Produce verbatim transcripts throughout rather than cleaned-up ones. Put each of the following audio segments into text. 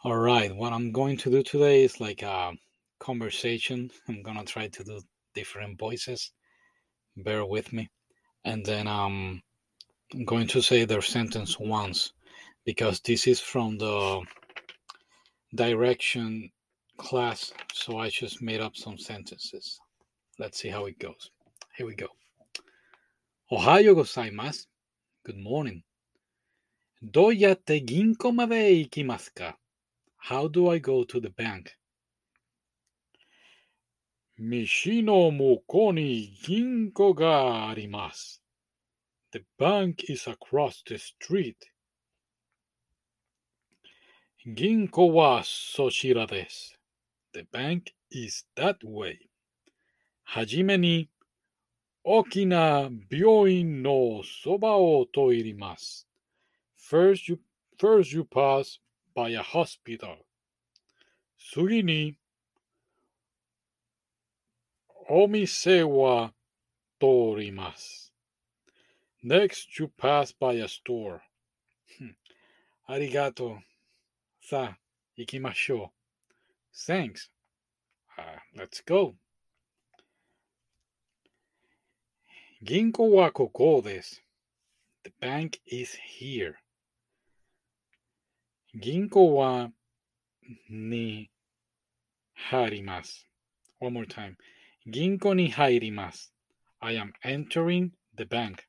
All right, what I'm going to do today is like a conversation. I'm gonna try to do different voices. Bear with me. And then um, I'm going to say their sentence once because this is from the direction class. So I just made up some sentences. Let's see how it goes. Here we go. Ohayo gozaimasu. Good morning. どうやって銀行まで行きますか? How do I go to the bank? 道の向こうに銀行があります。The bank is across the street. 銀行はそちらです。The bank is that way. はじめに大きな病院のそばを通ります。First you, first you pass by a hospital. 次にお店は通ります。Next you pass by a store. ありがとう。さあ、行きましょう。Thanks. Uh, let's go. 銀行はここです。The bank is here. 銀行はに入ります。One more time. 銀行に入ります。I am entering the bank.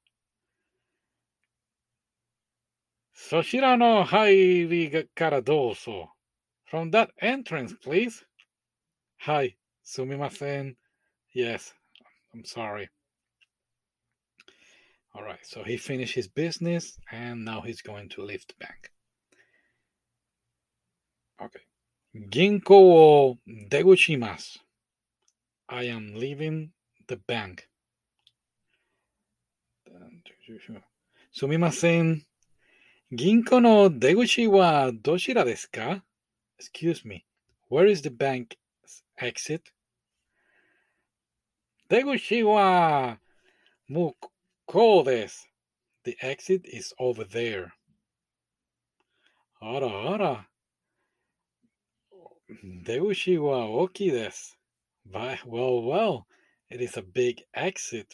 そちらの入りからどうぞ。From that entrance, please. はい、すみません。Yes, I'm sorry. All right, so he finished his business and now he's going to leave the bank. Okay. 銀行を出口します。I am leaving the bank. すみません。銀行の出口はどちらですか? Excuse me. Where is the bank's exit? 出口は向こうです。The exit is over there. あらあら。出口は大きいです。But, well, well, it is a big exit.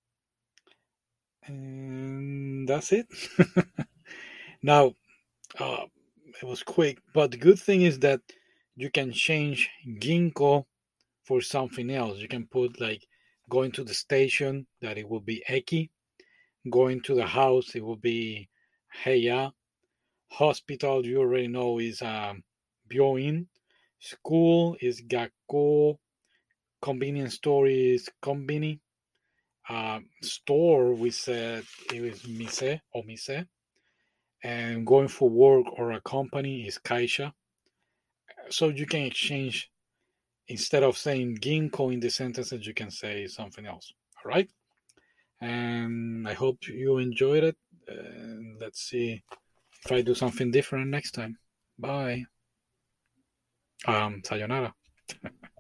And that's it. Now, uh, it was quick, but the good thing is that you can change ginko for something else. You can put like going to the station, that it will be eki. Going to the house, it will be heya. Hospital, you already know, is um, byoin. School is gakko. Convenience store is konbini. Uh, store, we said it was mise or mise. And going for work or a company is kaisha. So you can exchange, instead of saying ginko in the sentences, you can say something else. All right. And I hope you enjoyed it. And let's see if I do something different next time. Bye. Um, sayonara.